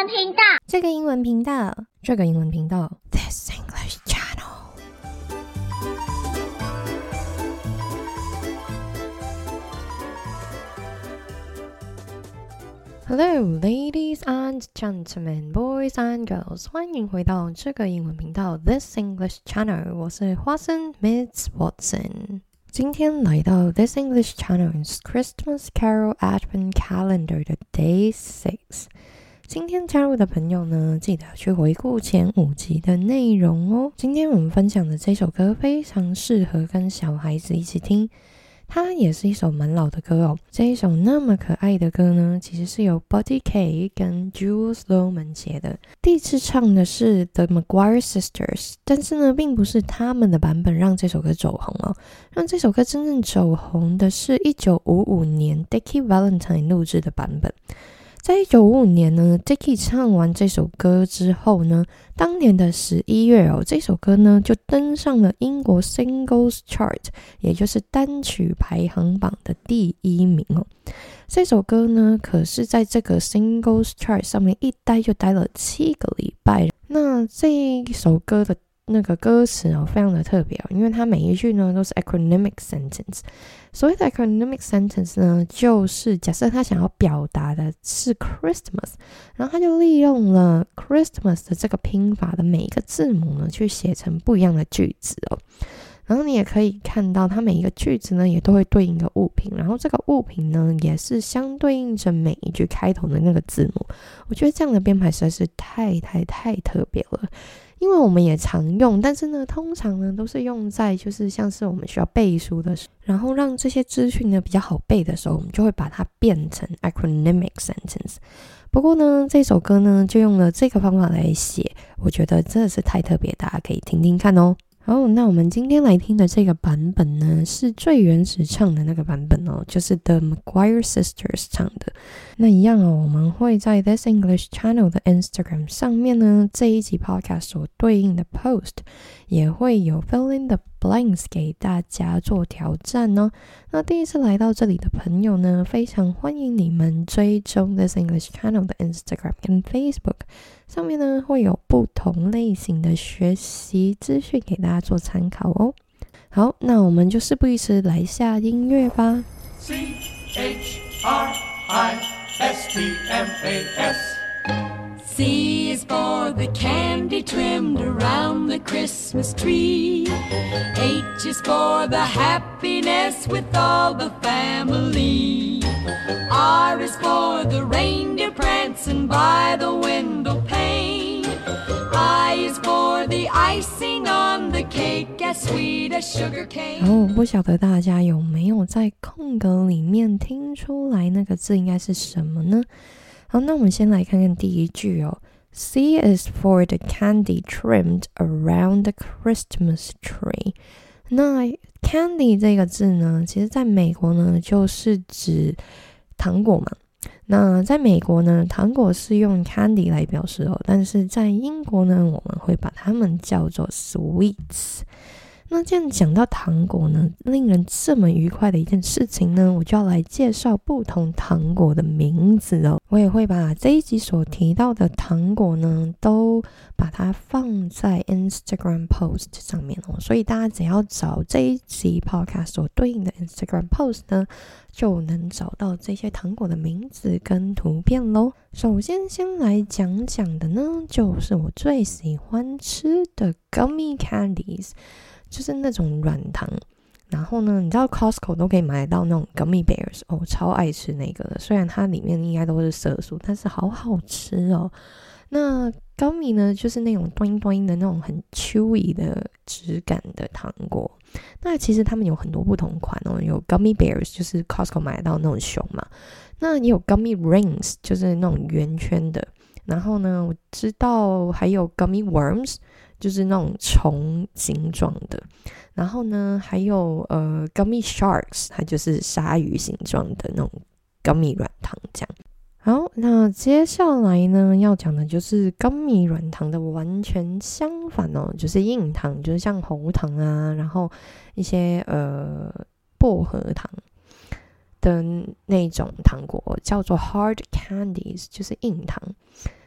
文频道， 这个英文频道，这个英文频道 This English Channel。Hello, ladies and gentlemen, boys and girls， 欢迎回到这个英文频道 This English Channel， 我是花生 Miss Watson。今天来到 This English Channel's Christmas Carol Advent Calendar 的 Day 6。今天加入的朋友呢，记得去回顾前5集的内容哦。今天我们分享的这首歌非常适合跟小孩子一起听，它也是一首蛮老的歌哦。这一首那么可爱的歌呢，其实是由 Buddy Kaye 跟 Jules Lohman 写的。第一次唱的是 The Maguire Sisters， 但是呢，并不是他们的版本让这首歌走红哦。让这首歌真正走红的是1955年 Dickie Valentine 录制的版本。在1955年呢 Dickie 唱完这首歌之后呢，当年的11月哦，这首歌呢就登上了英国 Singles Chart， 也就是单曲排行榜的第1名哦。这首歌呢，可是在这个 Singles Chart 上面一待就待了7个礼拜。那这一首歌的那个歌词哦，非常的特别哦，因为它每一句呢都是 acronymic sentence。所谓的 acronymic sentence 呢，就是假设他想要表达的是 Christmas， 然后他就利用了 Christmas 的这个拼法的每一个字母呢，去写成不一样的句子哦。然后你也可以看到，它每一个句子呢，也都会对应一个物品，然后这个物品呢，也是相对应着每一句开头的那个字母。我觉得这样的编排实在是太特别了。因为我们也常用，但是呢，通常呢都是用在就是像是我们需要背书的时候，然后让这些资讯呢比较好背的时候，我们就会把它变成 acronymic sentence。不过呢，这首歌呢就用了这个方法来写，我觉得真的是太特别，大家可以听听看哦。好，那我们今天来听的这个版本呢，是最原始唱的那个版本哦，就是 The Maguire Sisters 唱的。那一样哦，我们会在 This English Channel 的 Instagram 上面呢，这一集 podcast 所对应的 post 也会有 fill in the blanks 给大家做挑战哦。那第一次来到这里的朋友呢，非常欢迎你们追踪 This English Channel 的 Instagram 跟 Facebook， 上面呢会有不同类型的学习资讯给大家做参考哦。好，那我们就事不宜迟，来下音乐吧。 C is for the candy trimmed around the Christmas tree. H is for the happiness with all the family. R is for the reindeer prancing by the window pane. I is for the icing on the cake as sweet as sugar cane. 不晓得大家有没有在空格里面听出来那个字应该是什么呢？好，那我们先来看看第一句哦。C is for the candy trimmed around the Christmas tree。那 candy 这个字呢，其实在美国呢就是指糖果嘛。那在美国呢，糖果是用 candy 来表示哦，但是在英国呢，我们会把它们叫做 sweets。那既然讲到糖果呢，令人这么愉快的一件事情呢，我就要来介绍不同糖果的名字哦。我也会把这一集所提到的糖果呢，都把它放在 Instagram post 上面哦。所以大家只要找这一集 podcast 所对应的 Instagram post 呢，就能找到这些糖果的名字跟图片咯。首先来讲的呢，就是我最喜欢吃的 gummy candies。就是那种软糖，然后呢，你知道 Costco 都可以买得到那种 gummy bears 哦，超爱吃那个的。虽然它里面应该都是色素，但是好好吃哦。那 gummy 呢，就是那种端端的那种很 chewy 的质感的糖果。那其实他们有很多不同款哦，有 gummy bears 就是 Costco 买得到那种熊嘛，那也有 gummy rings 就是那种圆圈的。然后呢，我知道还有 gummy worms。就是那种虫形状的，然后呢，还有gummy sharks， 它就是鲨鱼形状的那种 gummy 软糖这样。好，那接下来呢要讲的就是 gummy 软糖的完全相反哦，就是硬糖，就是像喉糖啊，然后一些薄荷糖的那种糖果叫做 hard candies， 就是硬糖。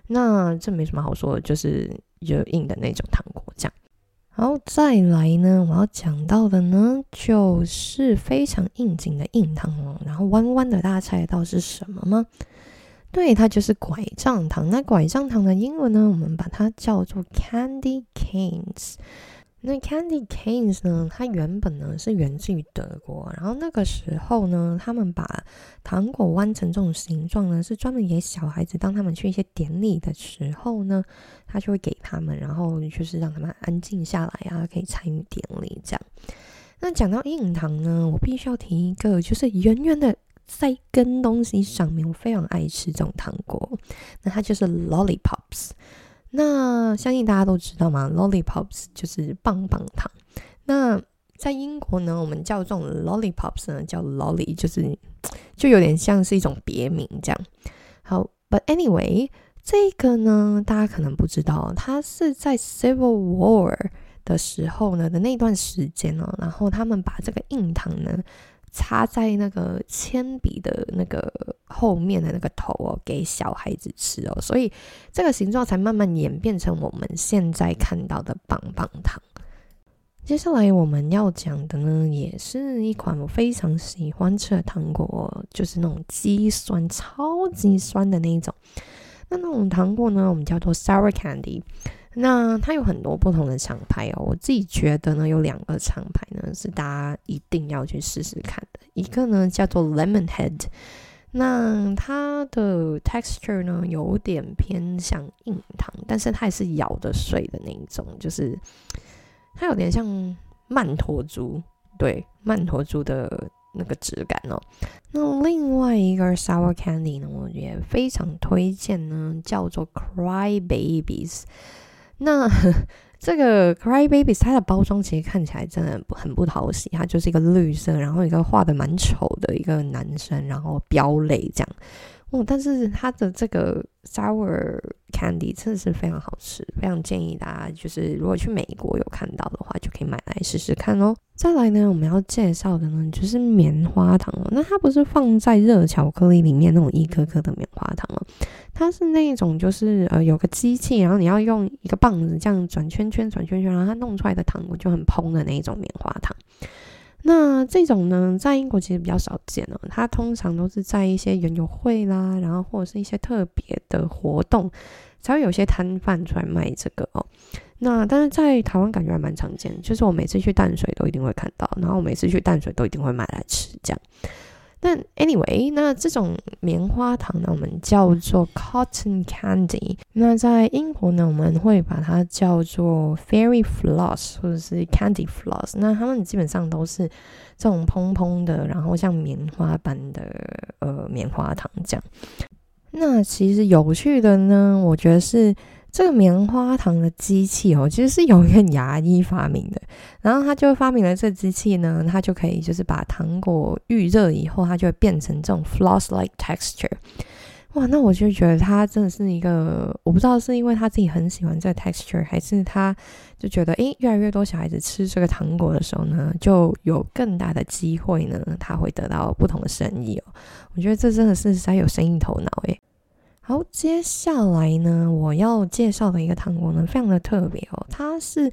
那这没什么好说的，就是硬的那种糖果这样。好，再来呢，我要讲到的呢，就是非常应景的硬糖哦。然后弯弯的，大家猜得到是什么吗？对，它就是拐杖糖。那拐杖糖的英文呢，我们把它叫做 candy canes。那 candy canes 呢，它原本呢是源自于德国，然后那个时候呢，他们把糖果弯成这种形状呢，是专门给小孩子，当他们去一些典礼的时候呢，他就会给他们，然后就是让他们安静下来啊，可以参与典礼这样。那讲到硬糖呢，我必须要提一个，就是圆圆的在一根东西上面，我非常爱吃这种糖果，那它就是 lollipops。那相信大家都知道嘛 ，lollipops 就是棒棒糖。那在英国呢，我们叫这种 lollipops 呢叫 lolly， 就有点像是一种别名这样。好 ，but anyway， 这个呢大家可能不知道，它是在 Civil War 的时候呢的那段时间哦，然后他们把这个硬糖呢插在那个铅笔的那个后面的那个头哦，给小孩子吃哦，所以这个形状才慢慢演变成我们现在看到的棒棒糖。接下来我们要讲的呢，也是一款我非常喜欢吃的糖果，就是那种极酸、超级酸的那一种。那种糖果呢，我们叫做 sour candy。那它有很多不同的厂牌哦，我自己觉得呢，有2个厂牌呢是大家一定要去试试看的。一个呢叫做 Lemonhead， 那它的 texture 呢有点偏向硬糖，但是它也是咬得碎的那一种，就是它有点像曼陀珠，对，曼陀珠的那个质感哦。那另外一个 sour candy 呢，我也非常推荐呢，叫做 Cry Babies。那这个 Cry Babies 它的包装其实看起来真的很不讨喜，它就是一个绿色，然后一个画的蛮丑的一个男生，然后飙泪这样。但是它的这个 sour candy 真的是非常好吃，非常建议大家就是如果去美国有看到的话，就可以买来试试看哦。再来呢，我们要介绍的呢就是棉花糖哦。那它不是放在热巧克力里面那种一颗颗的棉花糖哦，它是那种就是有个机器，然后你要用一个棒子这样转圈圈，然后它弄出来的糖果就很蓬的那种棉花糖。那这种呢，在英国其实比较少见哦，它通常都是在一些园游会啦，然后或者是一些特别的活动，才会有些摊贩出来卖这个哦。那但是在台湾感觉还蛮常见，就是我每次去淡水都一定会看到，然后我每次去淡水都一定会买来吃这样。但 anyway， 那这种棉花糖呢，我们叫做 cotton candy。那在英国呢，我们会把它叫做 fairy floss 或者是 candy floss。那它们基本上都是这种蓬蓬的，然后像棉花般的棉花糖这样。那其实有趣的呢，我觉得是这个棉花糖的机器哦，其实是有一个牙医发明的，然后他就发明了这机器呢，它就可以就是把糖果预热以后，它就会变成这种 floss-like texture。哇，那我就觉得他真的是一个，我不知道是因为他自己很喜欢这个 texture， 还是他就觉得越来越多小孩子吃这个糖果的时候呢，就有更大的机会呢，他会得到不同的生意哦。我觉得这真的是实在有生意头脑耶。好，接下来呢，我要介绍的一个糖果呢，非常的特别哦。它是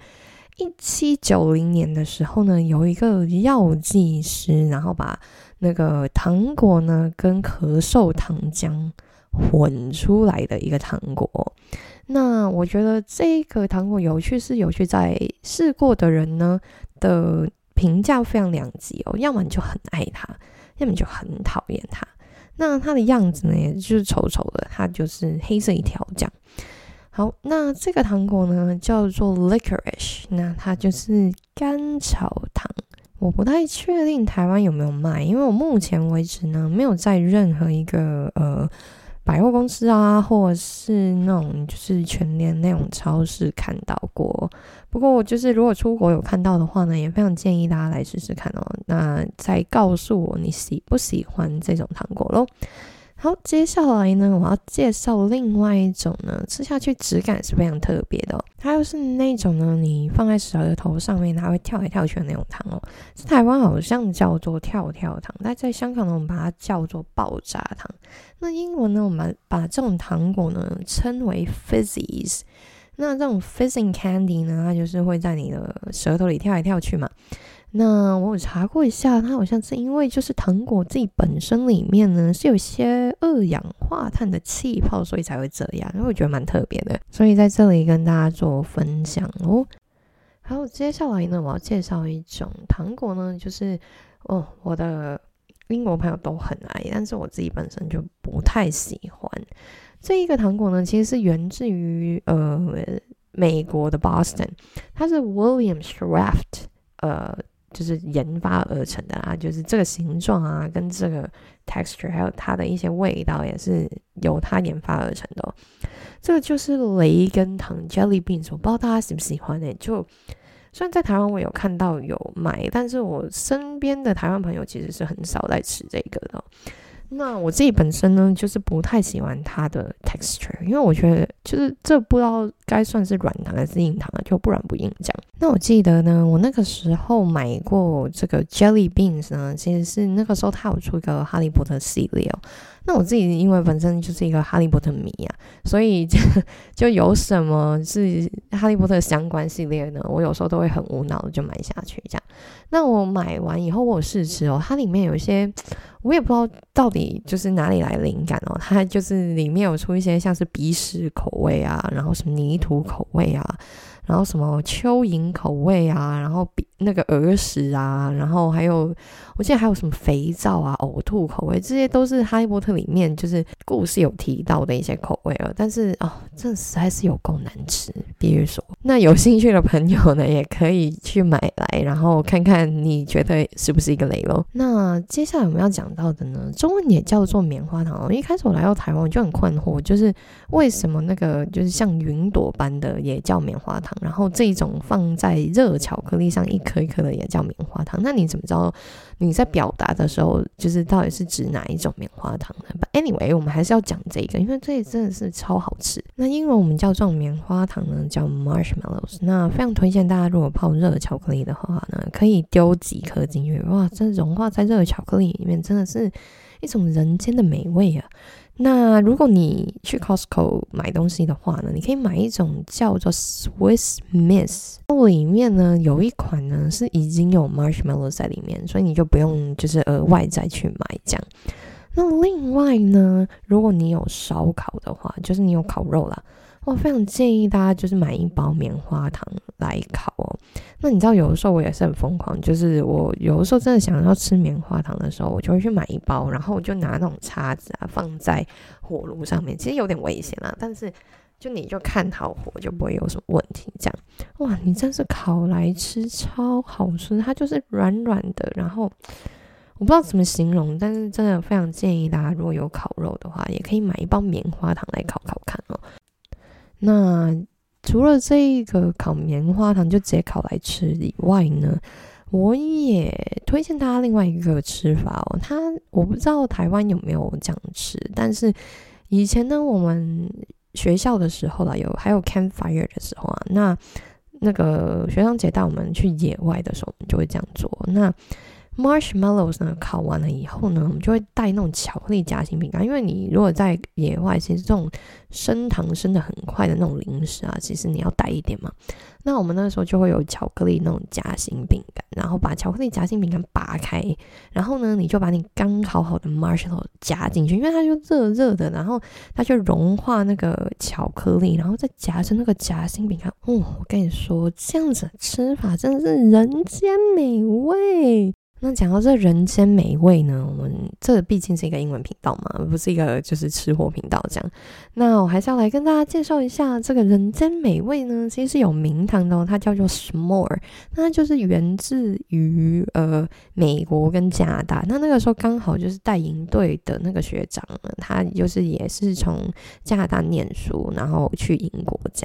1790年的时候呢，有一个药剂师，然后把那个糖果呢跟咳嗽糖浆混出来的一个糖果。那我觉得这个糖果有趣在试过的人呢的评价非常两极哦，要么你就很爱它，要么你就很讨厌它。那它的样子呢，也就是丑丑的，它就是黑色一条这样。好，那这个糖果呢叫做 licorice， 那它就是甘草糖。我不太确定台湾有没有卖，因为我目前为止呢没有在任何一个百货公司啊，或者是那种就是全联那种超市看到过。不过就是如果出国有看到的话呢，也非常建议大家来试试看哦。那再告诉我你喜不喜欢这种糖果咯。 好，接下来呢，我要介绍另外一种呢，吃下去质感是非常特别的它又是那种呢，你放在舌头上面，它会跳来跳去的那种糖在台湾好像叫做跳跳糖，但在香港呢，我们把它叫做爆炸糖。那英文呢，我们把这种糖果呢称为 fizzies。那这种 fizzing candy 呢，它就是会在你的舌头里跳来跳去嘛。那我有查过一下，它好像是因为就是糖果自己本身里面呢是有些二氧化碳的气泡，所以才会这样，因为我觉得蛮特别的，所以在这里跟大家做分享哦。好，接下来呢，我要介绍一种糖果呢，就是我的英国朋友都很爱，但是我自己本身就不太喜欢。这一个糖果呢，其实是源自于美国的 Boston， 它是 William Kraft就是研发而成的啦，就是这个形状啊，跟这个 texture， 还有它的一些味道也是由它研发而成的这个就是雷根糖 Jelly Beans， 我不知道大家喜不喜欢就虽然在台湾我有看到有卖，但是我身边的台湾朋友其实是很少在吃这个的那我自己本身呢，就是不太喜欢它的 texture， 因为我觉得就是这不知道该算是软糖还是硬糖就不软不硬这样。那我记得呢，我那个时候买过这个 Jelly Beans 呢，其实是那个时候它有出一个哈利波特系列那我自己因为本身就是一个哈利波特迷所以就有什么是哈利波特相关系列呢，我有时候都会很无脑的就买下去这样。那我买完以后我有试吃它里面有一些我也不知道到底就是哪里来灵感它就是里面有出一些像是鼻屎口味然后什么泥土口味然后什么蚯蚓口味然后那个耳屎然后还有我记得还有什么肥皂呕吐口味，这些都是哈利波特里面就是故事有提到的一些口味但是这实在是有够难吃，必须说。那有兴趣的朋友呢，也可以去买来，然后看看你觉得是不是一个雷咯。那接下来我们要讲到的呢，中文也叫做棉花糖一开始我来到台湾我就很困惑，就是为什么那个就是像云朵般的也叫棉花糖，然后这一种放在热巧克力上一颗一颗的也叫棉花糖，那你怎么知道你在表达的时候就是到底是指哪一种棉花糖呢？ But anyway 我们还是要讲这个，因为这真的是超好吃。那英文我们叫这种棉花糖呢叫 marshmallows， 那非常推荐大家如果泡热巧克力的话呢，可以丢几颗进去，哇，这融化在热巧克力里面真的是一种人间的美味那如果你去 Costco 买东西的话呢，你可以买一种叫做 Swiss Miss， 里面呢有一款呢是已经有 marshmallow 在里面，所以你就不用就是额外再去买这样。那另外呢，如果你有烧烤的话，就是你有烤肉啦，我非常建议大家就是买一包棉花糖来烤那你知道有的时候我也是很疯狂，就是我有的时候真的想要吃棉花糖的时候，我就会去买一包，然后我就拿那种叉子放在火炉上面，其实有点危险啦，但是就你就看好火就不会有什么问题这样。哇，你真是烤来吃超好吃，它就是软软的，然后我不知道怎么形容，但是真的非常建议大家如果有烤肉的话，也可以买一包棉花糖来烤烤看那除了这个烤棉花糖就直接烤来吃以外呢，我也推荐大家另外一个吃法我不知道台湾有没有这样吃，但是以前呢我们学校的时候还有 campfire 的时候那个学长姐带我们去野外的时候，我们就会这样做。那marshmallows 呢烤完了以后呢，我们就会带那种巧克力夹心饼干，因为你如果在野外，其实这种升糖升得很快的那种零食其实你要带一点嘛。那我们那时候就会有巧克力那种夹心饼干，然后把巧克力夹心饼干拔开，然后呢你就把你刚烤好的 marshmallow 夹进去，因为它就热热的，然后它就融化那个巧克力，然后再夹着那个夹心饼干我跟你说这样子的吃法真的是人间美味。那讲到这人间美味呢，我们这毕竟是一个英文频道嘛，不是一个就是吃货频道这样。那我还是要来跟大家介绍一下这个人间美味呢，其实是有名堂的它叫做 s'more， 那它就是源自于美国跟加拿大。那个时候刚好就是带营队的那个学长呢，他就是也是从加拿大念书，然后去英国这样。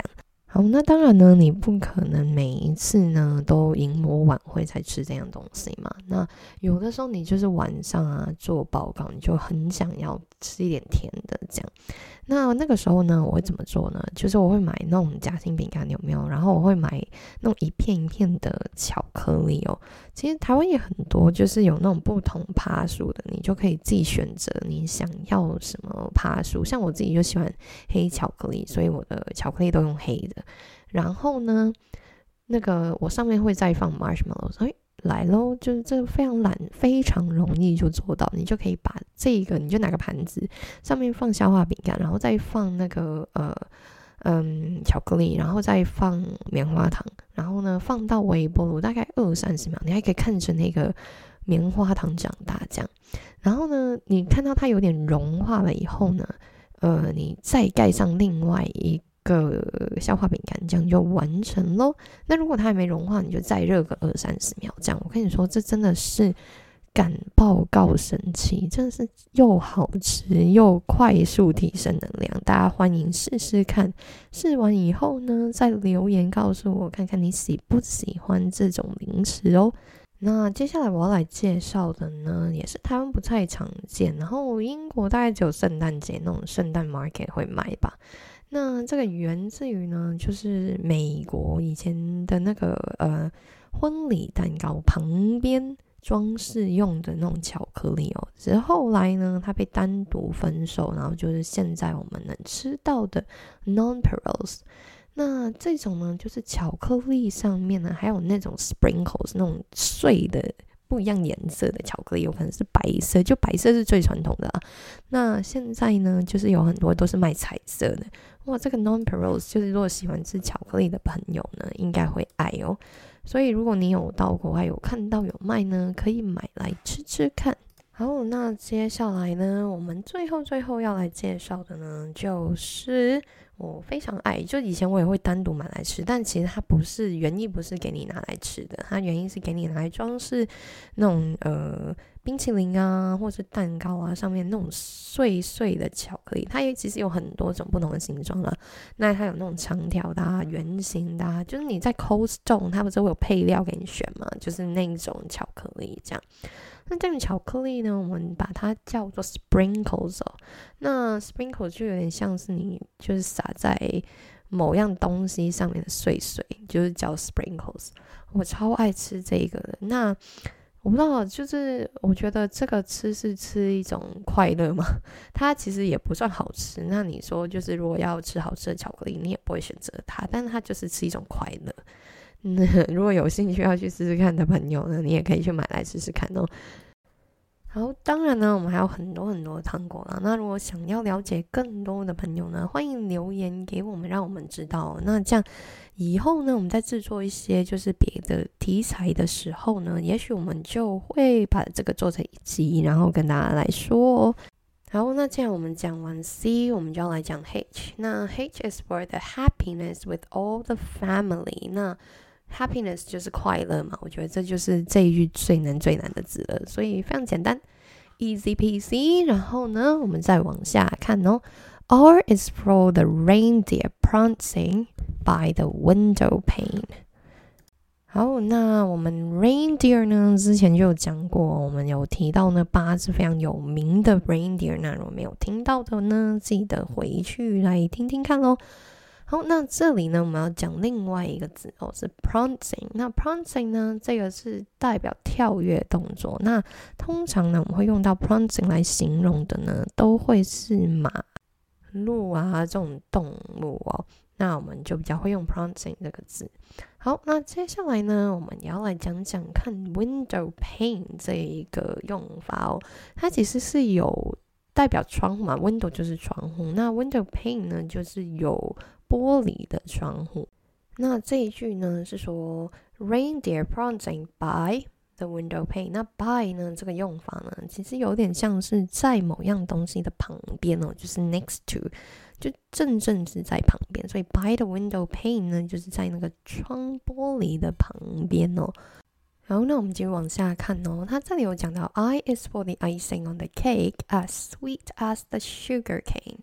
好，那当然呢，你不可能每一次呢都迎魔晚会才吃这样东西嘛。那有的时候你就是晚上啊做报告，你就很想要吃一点甜的这样。那个时候呢，我会怎么做呢？就是我会买那种夹心饼干，有没有？然后我会买那种一片一片的巧克力哦。其实台湾也很多，就是有那种不同趴数的，你就可以自己选择你想要什么趴数。像我自己就喜欢黑巧克力，所以我的巧克力都用黑的。然后呢，那个我上面会再放 marshmallows，来咯，就是这个非常容易就做到。你就可以把这个，你就拿个盘子，上面放消化饼干，然后再放那个巧克力，然后再放棉花糖，然后呢放到微波炉大概20-30秒，你还可以看着那个棉花糖长大这样。然后呢，你看到它有点融化了以后呢，你再盖上另外一个消化饼干，这样就完成咯。那如果它还没融化，你就再热个20-30秒这样。我跟你说，这真的是敢报告神奇，真的是又好吃又快速提升能量，大家欢迎试试看。试完以后呢，再留言告诉我看看你喜不喜欢这种零食哦。那接下来我要来介绍的呢，也是台湾不太常见，然后英国大概只有圣诞节那种圣诞 market 会卖吧。那这个源自于呢，就是美国以前的那个婚礼蛋糕旁边装饰用的那种巧克力哦，只是后来呢，它被单独分售，然后就是现在我们能吃到的 nonpareils。那这种呢，就是巧克力上面呢，还有那种 sprinkles 那种碎的不一样颜色的巧克力，有可能是白色，就白色是最传统的啊。那现在呢，就是有很多都是卖彩色的。哇，这个 nonpareils 就是如果喜欢吃巧克力的朋友呢，应该会爱哦。所以如果你有到国外有看到有卖呢，可以买来吃吃看。好，那接下来呢，我们最后要来介绍的呢，就是我非常爱，就以前我也会单独买来吃，但其实它不是原意不是给你拿来吃的，它原因是给你拿来装饰那种冰淇淋啊，或是蛋糕啊，上面那种碎碎的巧克力，它也其实有很多种不同的形状啦。那它有那种长条的啊、圆形的啊，就是你在 Cold Stone 它不是会有配料给你选嘛，就是那种巧克力这样。那这种巧克力呢，我们把它叫做 sprinkles 哦。那 sprinkles 就有点像是你就是撒在某样东西上面的碎碎，就是叫 sprinkles。我超爱吃这个的。那我不知道，就是我觉得这个吃是吃一种快乐嘛，它其实也不算好吃。那你说就是如果要吃好吃的巧克力，你也不会选择它，但是它就是吃一种快乐。如果有兴趣要去试试看的朋友呢，你也可以去买来试试看哦。好，当然呢，我们还有很多很多的糖果啦。那如果想要了解更多的朋友呢，欢迎留言给我们，让我们知道。那这样以后呢，我们在制作一些就是别的题材的时候呢，也许我们就会把这个做成一集，然后跟大家来说哦。好，那既然我们讲完 C， 我们就要来讲 H。那 H is for the happiness with all the family。那 happiness 就是快乐嘛，我觉得这就是这一句最难的字了，所以非常简单 ，easy peasy。然后呢，我们再往下看哦。R is for the reindeer prancing by the window pane。好，那我们 reindeer 呢，之前就有讲过，我们有提到呢8只非常有名的 reindeer。那如果没有听到的呢，记得回去来听听看咯。好，那这里呢，我们要讲另外一个字哦，是 prancing。那 prancing 呢，这个是代表跳跃动作。那通常呢，我们会用到 prancing 来形容的呢，都会是马、鹿啊这种动物哦。那我们就比较会用 prancing 这个字。好，那接下来呢，我们也要来讲讲看 window pane 这一个用法哦。它其实是有代表窗户嘛 ，window 就是窗户，那 window pane 呢就是有玻璃的窗户。那这一句呢是说 reindeer prancing by the window pane。那 by 呢这个用法呢，其实有点像是在某样东西的旁边哦，就是 next to， 就正是在旁边。所以 by the window pane 呢，就是在那个窗玻璃的旁边哦。然后呢，我们继续往下看哦。它这里有讲到 I is for the icing on the cake as sweet as the sugar cane。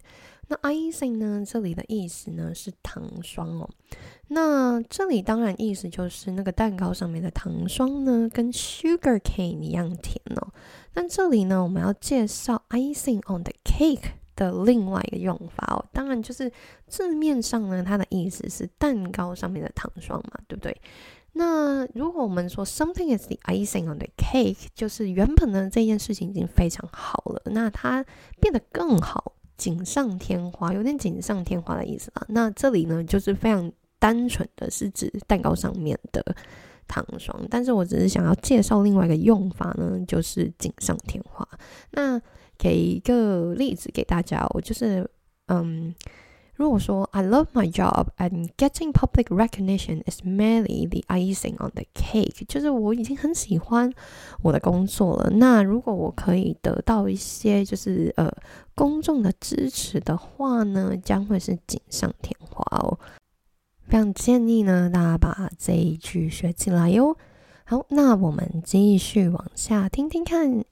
那 icing 呢，这里的意思呢是糖霜哦。那这里当然意思就是那个蛋糕上面的糖霜呢，跟 sugar cane 一样甜哦。但这里呢，我们要介绍 icing on the cake 的另外一个用法哦。当然就是字面上呢，它的意思是蛋糕上面的糖霜嘛，对不对？那如果我们说 something is the icing on the cake， 就是原本呢这件事情已经非常好了，那它变得更好，锦上添花，有点锦上添花的意思啦。那这里呢就是非常单纯的是指蛋糕上面的糖霜，但是我只是想要介绍另外一个用法呢，就是锦上添花。那给一个例子给大家，我就是如果说 I love my job and getting public recognition is merely the icing on the cake， 就是我已经很喜欢我的工作了，那如果我可以得到一些就是公众的支持的话呢，将会是锦上添花哦。非常建议呢大家把这一句学起来哟。好，那我们继续往下听听看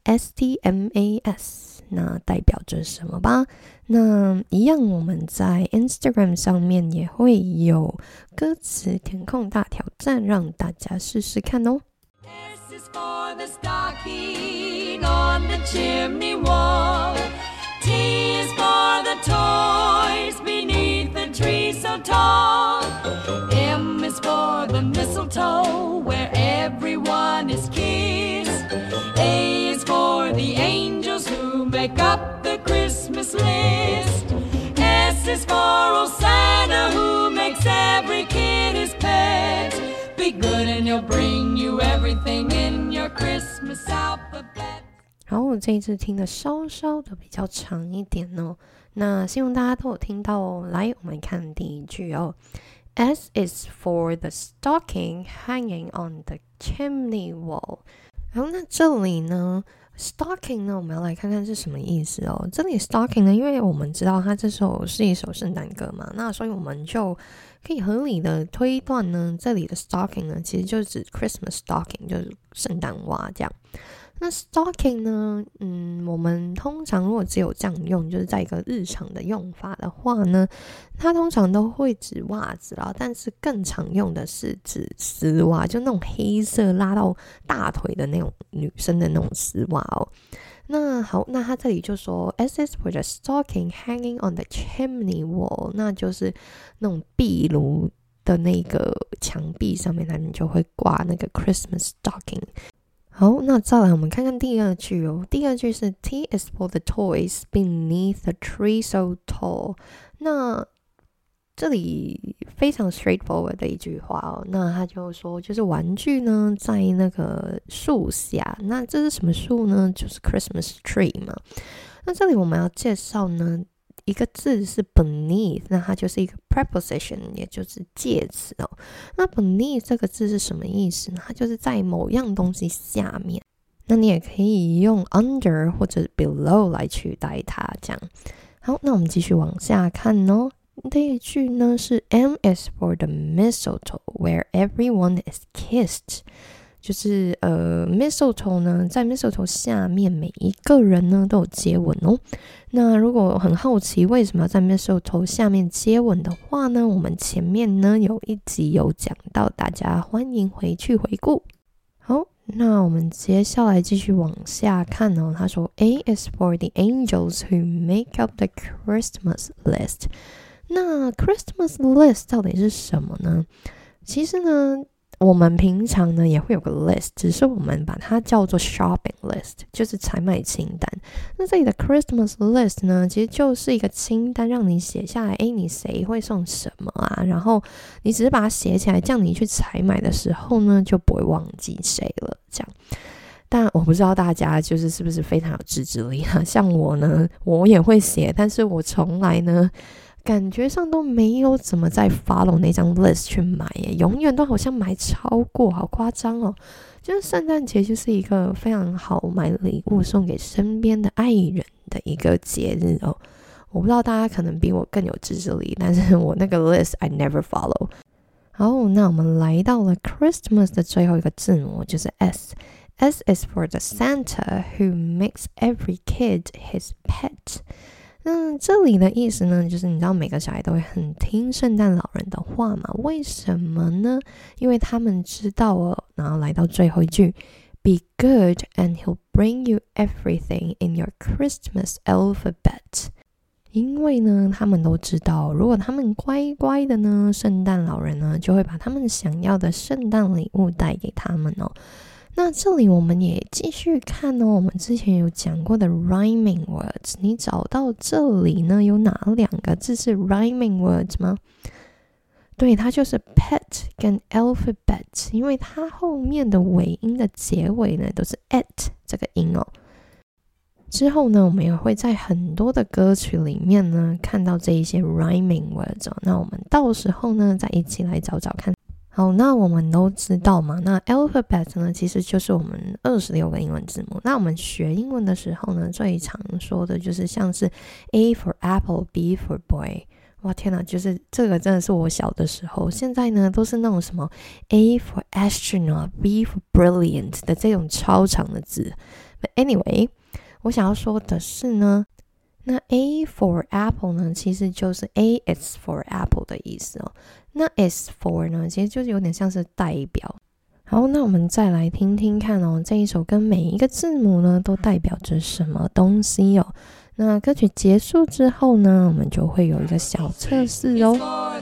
STMAS 那代表着什么吧。那一样我们在 Instagram 上面也会有歌词填空大挑战，让大家试试看哦。 S is for the stocking on the chimney wall. T is for the toys beneath the tree so tall. M is for the mistletoe where everyone is kissed. A is for the angels who make up the Christmas list. S is for old Santa who makes every kid his pet. Be good and he'll bring you everything in your Christmas alphabet. 然后我这一次听的稍稍的比较长一点哦，那希望大家都有听到哦。来，我们看第一句哦。S is for the stocking hanging on the chimney wall。然后那这里呢 ，stocking 呢，我们要来看看是什么意思哦。这里 stocking 呢，因为我们知道它这首是一首圣诞歌嘛，那所以我们就可以合理的推断呢，这里的 stocking 呢，其实就是指 Christmas stocking， 就是圣诞袜这样。那 stocking 呢，我们通常如果只有这样用，就是在一个日常的用法的话呢，它通常都会指袜子啦，但是更常用的是指丝袜，就那种黑色拉到大腿的那种女生的那种丝袜哦。那好，那他这里就说 S is for the stocking hanging on the chimney wall， 那就是那种壁炉的那个墙壁上面，他们就会挂那个 Christmas stocking。好，那再来我们看看第二句哦。第二句是 T is for the toys beneath the tree so tall。那这里非常 straightforward 的一句话哦。那他就说，就是玩具呢在那个树下，那这是什么树呢？就是 Christmas tree 嘛。那这里我们要介绍呢，一个字是 beneath， 那它就是一个 preposition， 也就是介词哦。那 beneath 这个字是什么意思呢？它就是在某样东西下面。那你也可以用 under 或者 below 来取代它，这样。好，那我们继续往下看哦。这一句呢是 M is for the mistletoe where everyone is kissed。就是 mistletoe 呢，在 mistletoe 下面每一个人呢都有接吻哦。那如果很好奇为什么要在 mistletoe 下面接吻的话呢，我们前面呢有一集有讲到，大家欢迎回去回顾。好，那我们接下来继续往下看哦。他说 A is for the angels who make up the Christmas list。那 Christmas list 到底是什么呢？其实呢，我们平常呢也会有个 list， 只是我们把它叫做 shopping list， 就是采买清单。那这里的 Christmas list 呢，其实就是一个清单，让你写下来，你谁会送什么啊？然后你只是把它写起来，这样你去采买的时候呢，就不会忘记谁了。这样，但我不知道大家就是是不是非常有自制力啊？像我呢，我也会写，但是我从来呢，感觉上都没有怎么在 follow 那张 list 去买耶，永远都好像买超过，好夸张哦。就是圣诞节就是一个非常好买礼物送给身边的爱人的一个节日哦。我不知道大家可能比我更有自制力，但是我那个 list I never follow。好，那我们来到了 Christmas 的最后一个字母，就是 S。S is for the Santa who makes every kid his pet。 那这里的意思呢，就是你知道每个小孩都会很听圣诞老人的话嘛？为什么呢？因为他们知道哦，然后来到最后一句 Be good and he'll bring you everything in your Christmas alphabet。 因为呢，他们都知道，如果他们乖乖的呢，圣诞老人呢就会把他们想要的圣诞礼物带给他们哦。那这里我们也继续看哦，我们之前有讲过的 rhyming words， 你找到这里呢有哪2个字是 rhyming words 吗？对，它就是 pet 跟 alphabet， 因为它后面的尾音的结尾呢都是 at 这个音哦。之后呢，我们也会在很多的歌曲里面呢看到这一些 rhyming words 哦。那我们到时候呢再一起来找找看。好，那我们都知道嘛，那 alphabet 呢其实就是我们26个英文字母。那我们学英文的时候呢，最常说的就是像是 A for apple, B for boy。哇天哪，就是这个真的是我小的时候，现在呢都是那种什么 A for astronaut, B for brilliant 的这种超长的字。But anyway， 我想要说的是呢，那 A for apple 呢其实就是 A is for apple 的意思哦。那 is for 呢其实就是有点像是代表。好，那我们再来听听看哦，这一首歌每一个字母呢都代表着什么东西哦。那歌曲结束之后呢，我们就会有一个小测试哦。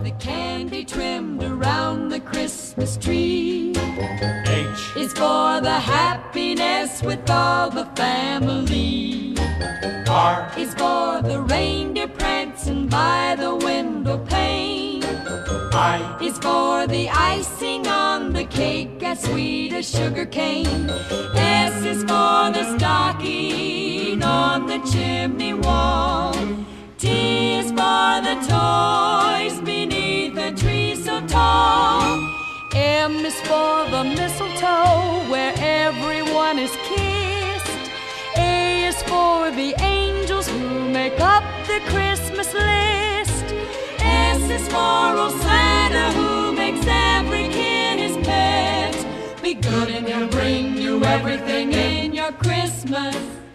H is for the happiness with all the family. R is for the reindeer prancing by the window pane. I is for the icing on the cake as sweet as sugar cane. S is for the stocking on the chimney wall. T is for the toys beneath a tree so tall. M is for the mistletoe where everyone is kissed. A is for the angels who make up the Christmas list. S is for old Santa who makes every kid his pet. Be good and he'll bring you everything in your Christmas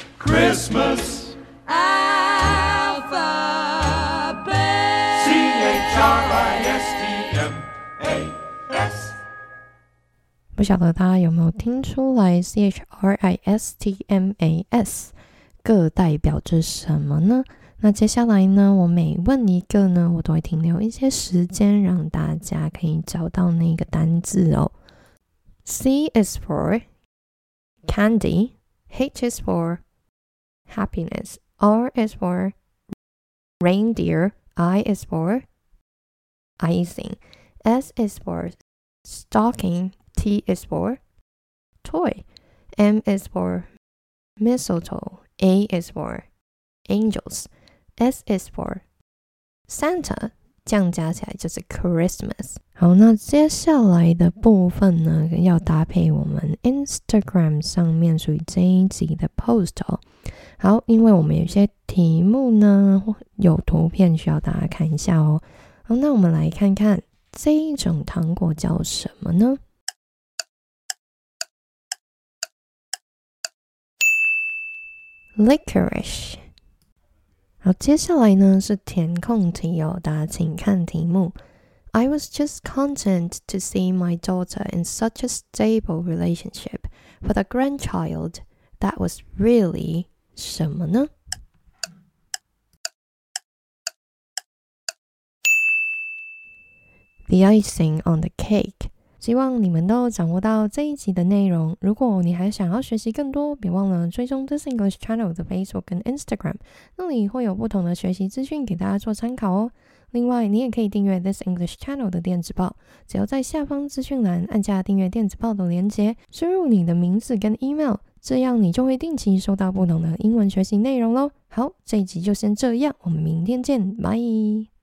alphabet. CHRISTMAS。 不晓得大家有没有听出来 CHRISTMAS 各代表着什么呢？那接下来呢，我每问一个呢，我都会停留一些时间，让大家可以找到那个单字哦。C is for candy, H is for happiness, R is for reindeer, I is for icing, S is for stocking, T is for toy, M is for mistletoe, A is for angels, S is for Santa， 这样加起来就是 Christmas。 好，那接下来的部分呢，要搭配我们 Instagram 上面属于这一集的 post 哦。好，因为我们有些题目呢有图片需要大家看一下哦。好，那我们来看看这一种糖果叫什么呢？Licorice。 好，接下来呢是填空题哦，大家请看题目。I was just content to see my daughter in such a stable relationship with a grandchild. That was really 什么呢？The icing on the cake。 希望你们都掌握到这一集的内容。如果你还想要学习更多，别忘了追踪 This English Channel 的 Facebook 跟 Instagram， 那里会有不同的学习资讯给大家做参考哦。另外，你也可以订阅 This English Channel 的电子报，只要在下方资讯栏按下订阅电子报的连结，输入你的名字跟 email， 这样你就会定期收到不同的英文学习内容咯。好，这一集就先这样，我们明天见，拜。